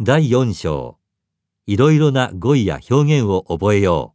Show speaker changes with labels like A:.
A: 第4章、いろいろな語彙や表現を覚えよ